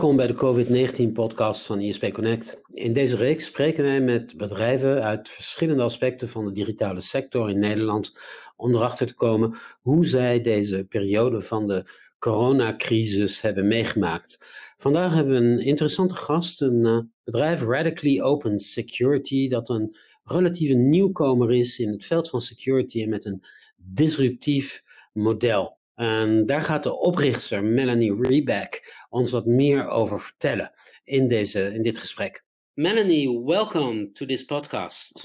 Welkom bij de COVID-19-podcast van ISP Connect. In deze reeks spreken wij met bedrijven uit verschillende aspecten van de digitale sector in Nederland om erachter te komen hoe zij deze periode van de coronacrisis hebben meegemaakt. Vandaag hebben we een interessante gast, een bedrijf Radically Open Security, dat een relatieve nieuwkomer is in het veld van security en met een disruptief model. En daar gaat de oprichter Melanie Reback ons wat meer over vertellen in dit gesprek. Melanie, welcome to this podcast.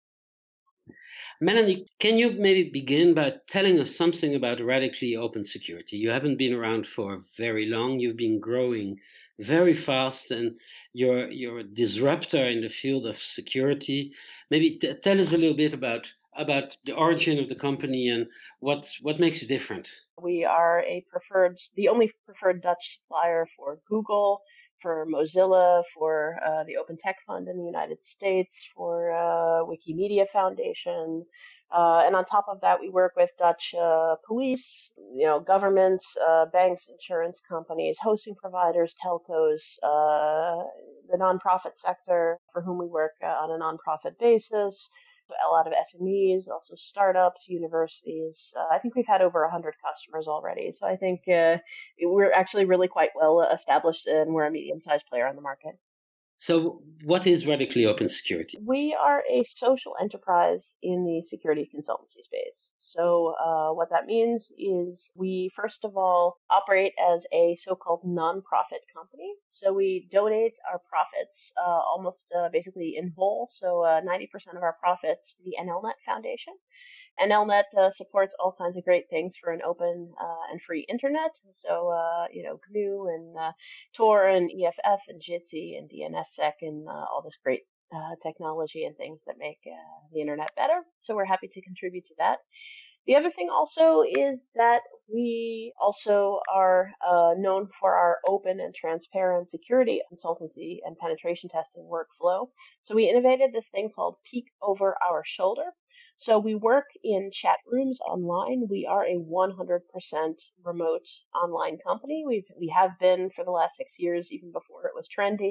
Melanie, can you maybe begin by telling us something about Radically Open Security? You haven't been around for very long. You've been growing very fast, and you're a disruptor in the field of security. Maybe tell us a little bit about the origin of the company and what makes it different. We are the only preferred Dutch supplier for Google, for Mozilla, for the Open Tech Fund in the United States, for Wikimedia Foundation. And on top of that, we work with Dutch police, governments, banks, insurance companies, hosting providers, telcos, the nonprofit sector for whom we work on a nonprofit basis. A lot of SMEs, also startups, universities. I think we've had over 100 customers already. So I think we're actually really quite well established, and we're a medium-sized player on the market. So what is Radically Open Security? We are a social enterprise in the security consultancy space. So what that means is we, first of all, operate as a so-called nonprofit company. So we donate our profits almost basically in whole, so 90% of our profits to the NLNet Foundation. NLNet supports all kinds of great things for an open and free internet. So, GNU and Tor and EFF and Jitsi and DNSSEC and all this great technology and things that make the internet better. So we're happy to contribute to that. The other thing also is that we also are known for our open and transparent security consultancy and penetration testing workflow. So we innovated this thing called Peek Over Our Shoulder. So we work in chat rooms online. We are a 100% remote online company. We have been for the last 6 years, even before it was trendy.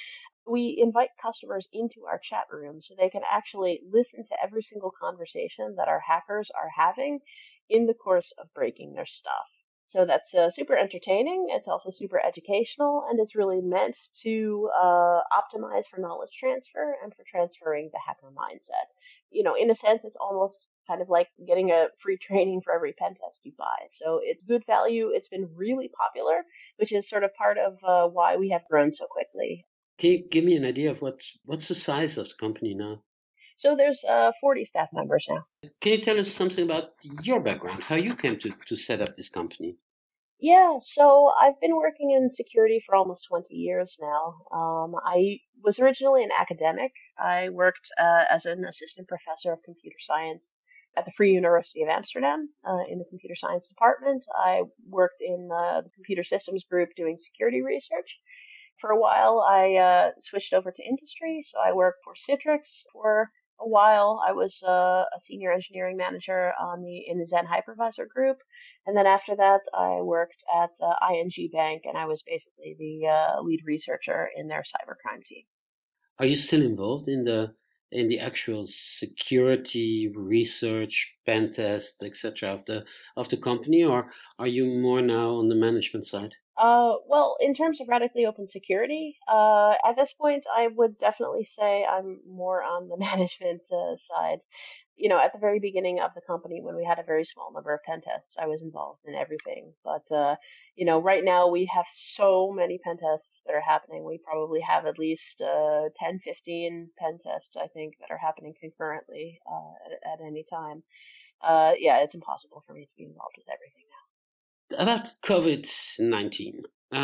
We invite customers into our chat room so they can actually listen to every single conversation that our hackers are having in the course of breaking their stuff. So that's super entertaining. It's also super educational, and it's really meant to optimize for knowledge transfer and for transferring the hacker mindset. In a sense, it's almost kind of like getting a free training for every pen test you buy. So it's good value. It's been really popular, which is sort of part of why we have grown so quickly. Can you give me an idea of what's the size of the company now? So there's 40 staff members now. Can you tell us something about your background, how you came to set up this company? Yeah, so I've been working in security for almost 20 years now. I was originally an academic. I worked as an assistant professor of computer science at the Free University of Amsterdam in the computer science department. I worked in the computer systems group doing security research. For a while, I switched over to industry, so I worked for Citrix for a while. I was a senior engineering manager in the Zen Hypervisor group, and then after that, I worked at ING Bank, and I was basically the lead researcher in their cybercrime team. Are you still involved in the actual security research, pen test, etc. of the company, or are you more now on the management side? Well, in terms of Radically Open Security, at this point, I would definitely say I'm more on the management side. At the very beginning of the company, when we had a very small number of pen tests, I was involved in everything. But, right now we have so many pen tests that are happening. We probably have at least 10, 15 pen tests, I think, that are happening concurrently at any time. It's impossible for me to be involved with everything now. About COVID-19,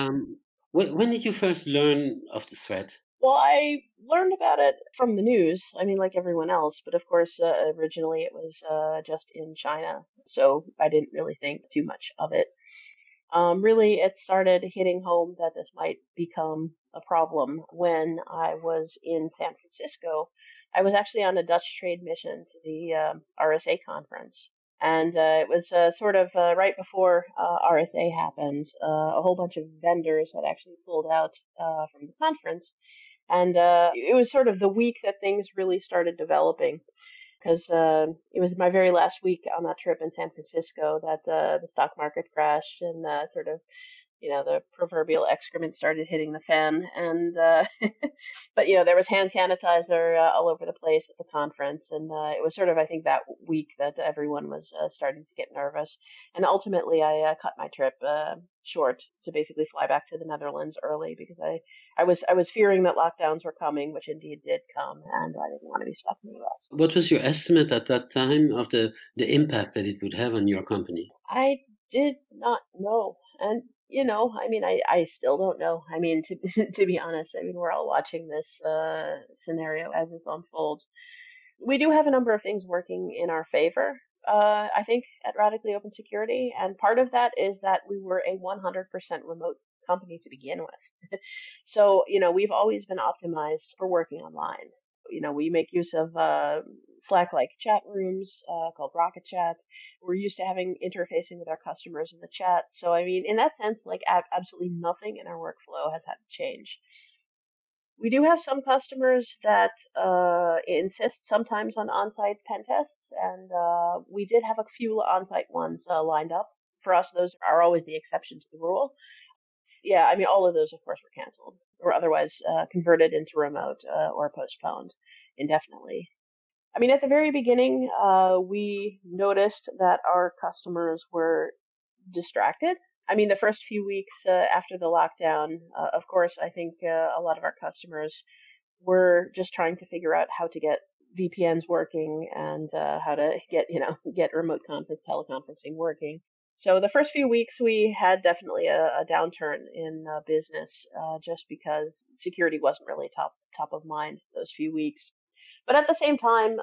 when did you first learn of the threat? Well, I learned about it from the news. I mean, like everyone else, but of course, originally it was just in China, so I didn't really think too much of it. Really, it started hitting home that this might become a problem when I was in San Francisco. I was actually on a Dutch trade mission to the RSA conference, And it was sort of right before RSA happened. A whole bunch of vendors had actually pulled out from the conference. And it was sort of the week that things really started developing because it was my very last week on that trip in San Francisco that the stock market crashed and sort of the proverbial excrement started hitting the fan. And, but, there was hand sanitizer all over the place at the conference. And it was sort of, I think, that week that everyone was starting to get nervous. And ultimately, I cut my trip short to basically fly back to the Netherlands early because I was fearing that lockdowns were coming, which indeed did come. And I didn't want to be stuck in the US. What was your estimate at that time of the impact that it would have on your company? I did not know. And I mean, I still don't know. I mean, to to be honest, I mean, we're all watching this scenario as it unfolds. We do have a number of things working in our favor. I think at Radically Open Security, and part of that is that we were a 100% remote company to begin with. So, we've always been optimized for working online. We make use of Slack-like chat rooms called Rocket Chat. We're used to having interfacing with our customers in the chat. So, I mean, in that sense, like absolutely nothing in our workflow has had to change. We do have some customers that insist sometimes on on-site pen tests, and we did have a few on-site ones lined up. For us, those are always the exception to the rule. Yeah, I mean, all of those, of course, were canceled or otherwise converted into remote or postponed indefinitely. I mean, at the very beginning, we noticed that our customers were distracted. I mean, the first few weeks after the lockdown, of course, I think a lot of our customers were just trying to figure out how to get VPNs working and how to get remote teleconferencing working. So the first few weeks we had definitely a downturn in business just because security wasn't really top of mind those few weeks. But at the same time,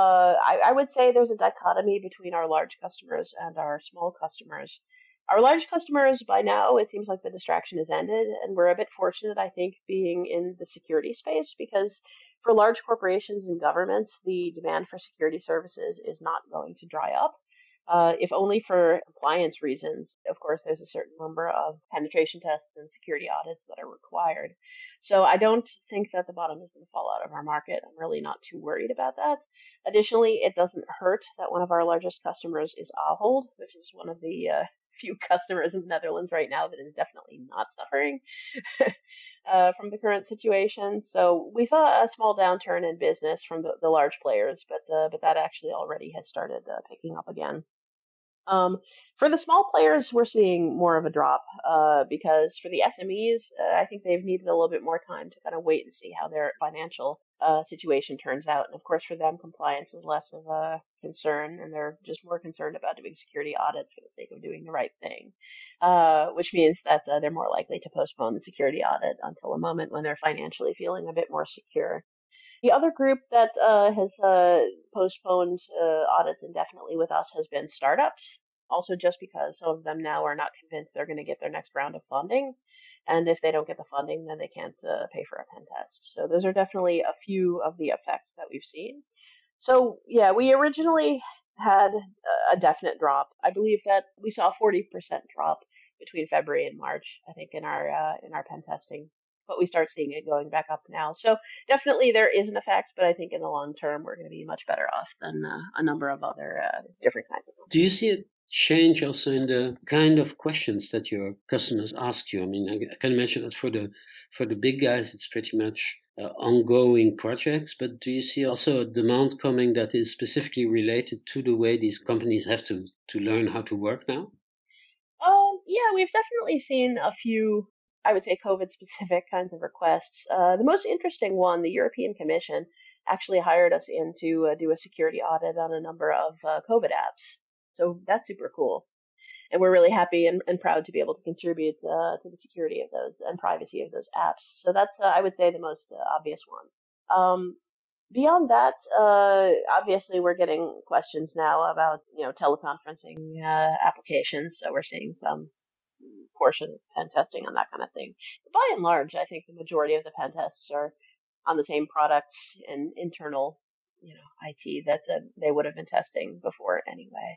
I would say there's a dichotomy between our large customers and our small customers. Our large customers, by now, it seems like the distraction has ended, and we're a bit fortunate, I think, being in the security space because for large corporations and governments, the demand for security services is not going to dry up. If only for compliance reasons. Of course, there's a certain number of penetration tests and security audits that are required. So I don't think that the bottom is going to fall out of our market. I'm really not too worried about that. Additionally, it doesn't hurt that one of our largest customers is Ahold, which is one of the few customers in the Netherlands right now that is definitely not suffering from the current situation. So we saw a small downturn in business from the large players, but that actually already has started picking up again. For the small players, we're seeing more of a drop because for the SMEs, I think they've needed a little bit more time to kind of wait and see how their financial situation turns out. And of course, for them, compliance is less of a concern, and they're just more concerned about doing security audits for the sake of doing the right thing, which means that they're more likely to postpone the security audit until a moment when they're financially feeling a bit more secure. The other group that has postponed audits indefinitely with us has been startups. Also, just because some of them now are not convinced they're going to get their next round of funding. And if they don't get the funding, then they can't pay for a pen test. So those are definitely a few of the effects that we've seen. So yeah, we originally had a definite drop. I believe that we saw a 40% drop between February and March, I think, in our pen testing. But we start seeing it going back up now. So definitely there is an effect, but I think in the long term we're going to be much better off than a number of other different kinds of them. Do you see a change also in the kind of questions that your customers ask you? I mean, I can imagine that for the big guys, it's pretty much ongoing projects. But do you see also a demand coming that is specifically related to the way these companies have to learn how to work now? Yeah, we've definitely seen a few, I would say, COVID-specific kinds of requests. The most interesting one, the European Commission, actually hired us in to do a security audit on a number of COVID apps. So that's super cool. And we're really happy and proud to be able to contribute to the security of those and privacy of those apps. So that's, I would say, the most obvious one. Beyond that, obviously we're getting questions now about, teleconferencing applications. So we're seeing some portion of pen testing on that kind of thing. But by and large, I think the majority of the pen tests are on the same products and internal, IT that they would have been testing before anyway.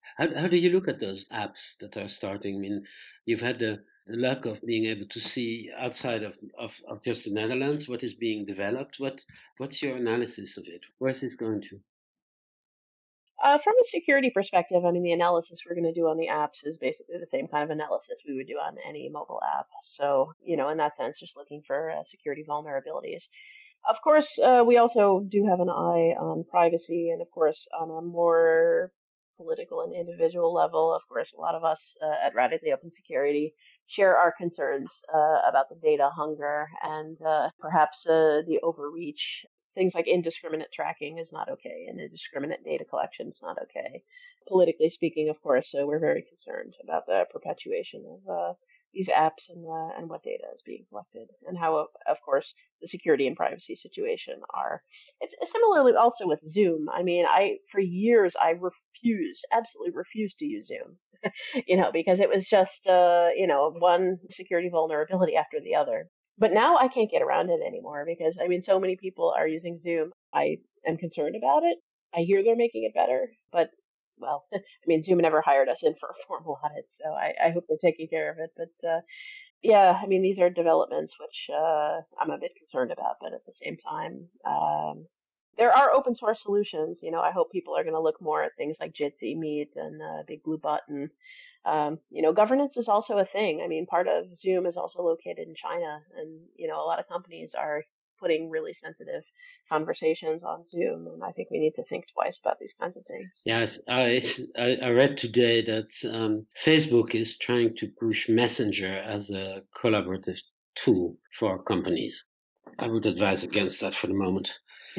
How do you look at those apps that are starting? I mean, you've had the luck of being able to see outside of just the Netherlands what is being developed. What's your analysis of it? Where's this going to? From a security perspective, I mean, the analysis we're going to do on the apps is basically the same kind of analysis we would do on any mobile app. So, in that sense, just looking for security vulnerabilities. Of course, we also do have an eye on privacy, and of course, on a more political and individual level, of course, a lot of us at Radically Open Security share our concerns about the data hunger and perhaps the overreach. Things like indiscriminate tracking is not okay, and indiscriminate data collection is not okay. Politically speaking, of course, we're very concerned about the perpetuation of these apps and what data is being collected, and how, of course, the security and privacy situation are. It's similarly also with Zoom. I mean, for years I absolutely refused to use Zoom, because it was just one security vulnerability after the other. But now I can't get around it anymore because I mean, so many people are using Zoom. I am concerned about it. I hear they're making it better, but well, I mean, Zoom never hired us in for a formal audit, so I hope they're taking care of it. But yeah, I mean, these are developments which I'm a bit concerned about, but at the same time, there are open source solutions. I hope people are going to look more at things like Jitsi, Meet, and Big Blue Button. Governance is also a thing. I mean, part of Zoom is also located in China, and a lot of companies are putting really sensitive conversations on Zoom, and I think we need to think twice about these kinds of things. Yes, I read today that Facebook is trying to push Messenger as a collaborative tool for companies. I would advise against that for the moment.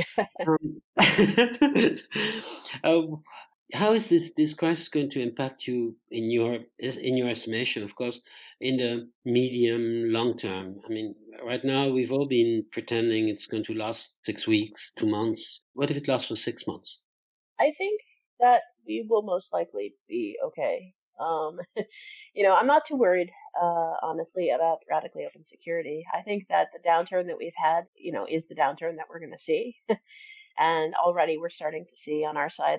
How is this crisis going to impact you in your estimation? Of course, in the medium long term. I mean, right now we've all been pretending it's going to last 6 weeks, 2 months. What if it lasts for 6 months? I think that we will most likely be okay. I'm not too worried, honestly, about radically open security. I think that the downturn that we've had, is the downturn that we're going to see. And already we're starting to see on our side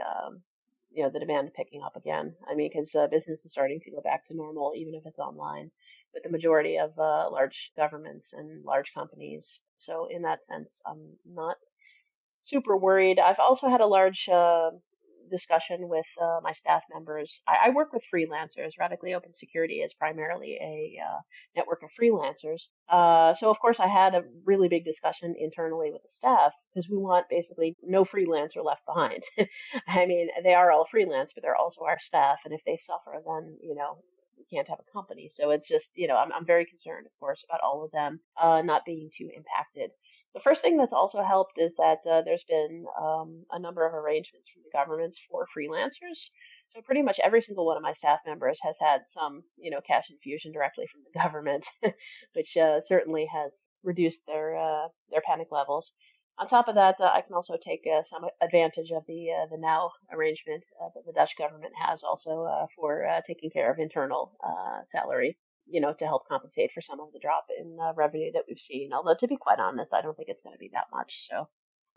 the demand picking up again. I mean, because business is starting to go back to normal, even if it's online, with the majority of large governments and large companies. So in that sense, I'm not super worried. I've also had a large discussion with my staff members. I work with freelancers. Radically Open Security is primarily a network of freelancers. So, of course, I had a really big discussion internally with the staff because we want basically no freelancer left behind. I mean, they are all freelance, but they're also our staff. And if they suffer, then, we can't have a company. So it's just, I'm very concerned, of course, about all of them not being too impacted. The first thing that's also helped is that there's been a number of arrangements from the governments for freelancers. So pretty much every single one of my staff members has had some, cash infusion directly from the government, which certainly has reduced their panic levels. On top of that, I can also take some advantage of the now arrangement that the Dutch government has also for taking care of internal salary, to help compensate for some of the drop in revenue that we've seen. Although, to be quite honest, I don't think it's going to be that much. So,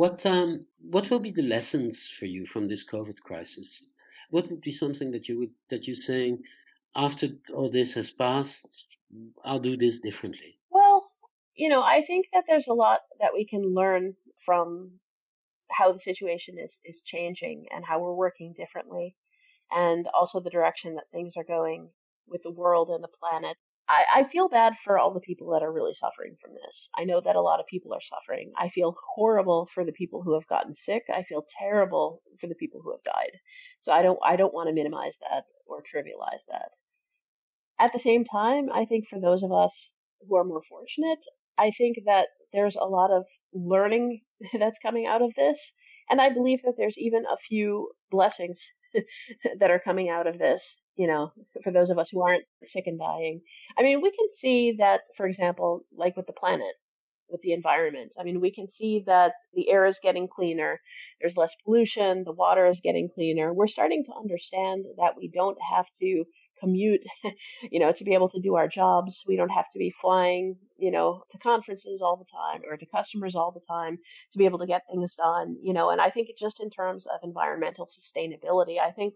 What will be the lessons for you from this COVID crisis? What would be something that you're saying after all this has passed? I'll do this differently. well, I think that there's a lot that we can learn from how the situation is changing and how we're working differently, and also the direction that things are going with the world and the planet. I feel bad for all the people that are really suffering from this. I know that a lot of people are suffering. I feel horrible for the people who have gotten sick. I feel terrible for the people who have died. So I don't want to minimize that or trivialize that. At the same time, I think for those of us who are more fortunate, I think that there's a lot of learning that's coming out of this. And I believe that there's even a few blessings that are coming out of this, for those of us who aren't sick and dying. I mean, we can see that, for example, like with the planet, with the environment. I mean, we can see that the air is getting cleaner, there's less pollution, the water is getting cleaner. We're starting to understand that we don't have to commute, to be able to do our jobs. We don't have to be flying, to conferences all the time or to customers all the time to be able to get things done, and I think just in terms of environmental sustainability, I think,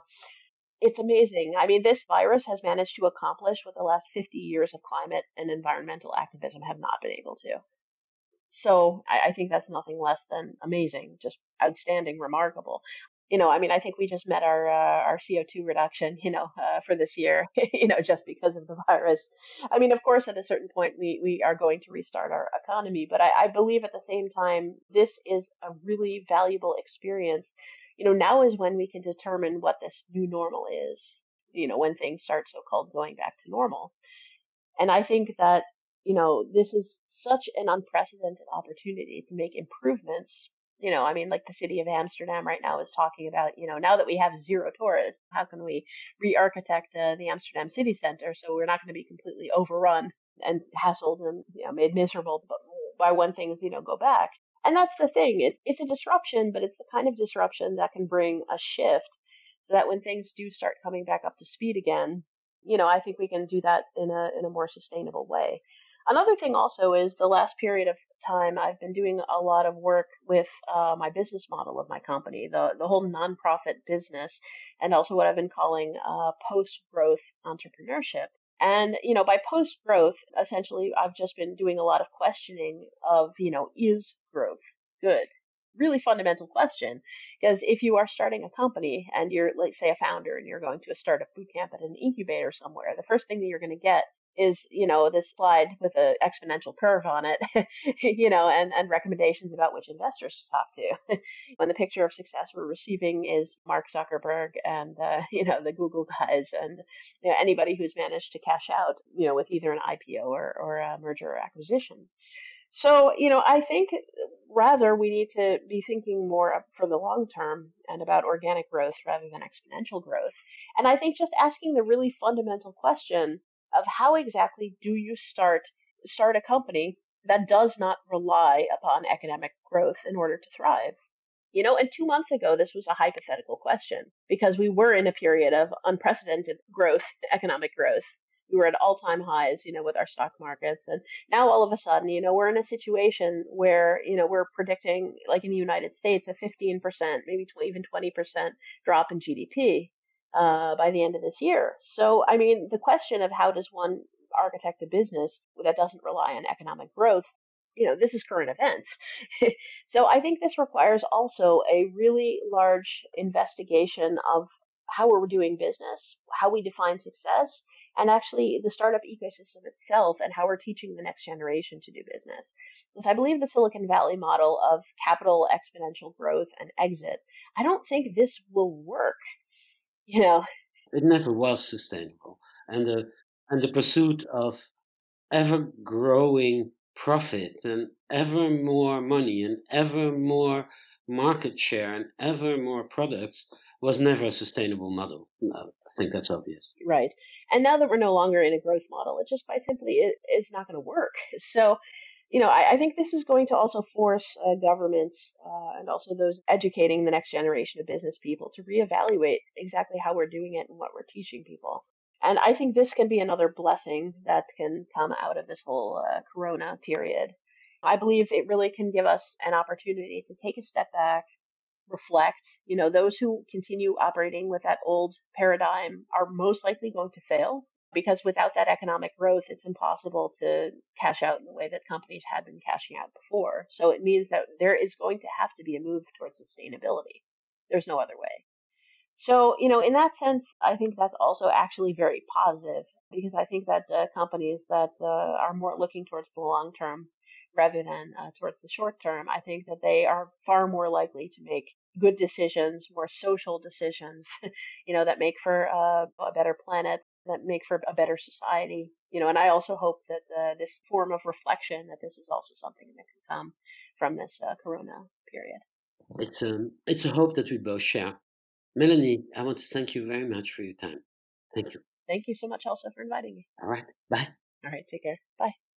it's amazing. I mean, this virus has managed to accomplish what the last 50 years of climate and environmental activism have not been able to. So I think that's nothing less than amazing, just outstanding, remarkable. I mean, I think we just met our CO2 reduction, for this year, just because of the virus. I mean, of course, at a certain point, we are going to restart our economy, but I believe at the same time, this is a really valuable experience. Now is when we can determine what this new normal is, when things start so-called going back to normal. And I think that, this is such an unprecedented opportunity to make improvements. I mean, like the city of Amsterdam right now is talking about, now that we have zero tourists, how can we re-architect the Amsterdam city center so we're not going to be completely overrun and hassled and, made miserable by when things, go back. And that's the thing. It's a disruption, but it's the kind of disruption that can bring a shift so that when things do start coming back up to speed again, I think we can do that in a more sustainable way. Another thing also is the last period of time I've been doing a lot of work with my business model of my company, the whole nonprofit business, and also what I've been calling post-growth entrepreneurship. And, by post-growth, essentially, I've just been doing a lot of questioning of, is growth good? Really fundamental question, because if you are starting a company and you're, like, say, a founder and you're going to a startup boot camp at an incubator somewhere, the first thing that you're going to get is, this slide with an exponential curve on it, and recommendations about which investors to talk to. When the picture of success we're receiving is Mark Zuckerberg and, the Google guys and anybody who's managed to cash out, with either an IPO or a merger or acquisition. So, I think rather we need to be thinking more for the long term and about organic growth rather than exponential growth. And I think just asking the really fundamental question of how exactly do you start a company that does not rely upon economic growth in order to thrive? And 2 months ago, this was a hypothetical question because we were in a period of unprecedented growth, economic growth. We were at all-time highs, with our stock markets. And now all of a sudden, we're in a situation where, we're predicting, like in the United States, a 15%, maybe even 20% drop in GDP by the end of this year. So, I mean, the question of how does one architect a business that doesn't rely on economic growth, this is current events. So I think this requires also a really large investigation of how we're doing business, how we define success, and actually the startup ecosystem itself and how we're teaching the next generation to do business. Because I believe the Silicon Valley model of capital exponential growth and exit, I don't think this will work. It never was sustainable. And the pursuit of ever growing profit and ever more money and ever more market share and ever more products was never a sustainable model. No, I think that's obvious. Right. And now that we're no longer in a growth model, it just quite simply is not going to work. So, I think this is going to also force governments and also those educating the next generation of business people to reevaluate exactly how we're doing it and what we're teaching people. And I think this can be another blessing that can come out of this whole corona period. I believe it really can give us an opportunity to take a step back, reflect. Those who continue operating with that old paradigm are most likely going to fail because without that economic growth, it's impossible to cash out in the way that companies had been cashing out before. So it means that there is going to have to be a move towards sustainability. There's no other way. So, in that sense, I think that's also actually very positive because I think that companies that are more looking towards the long term rather than towards the short term, I think that they are far more likely to make good decisions, more social decisions, that make for a better planet, that make for a better society, and I also hope that this form of reflection, that this is also something that can come from this corona period. It's a hope that we both share. Melanie, I want to thank you very much for your time. Thank you. Thank you so much also for inviting me. All right. Bye. All right. Take care. Bye.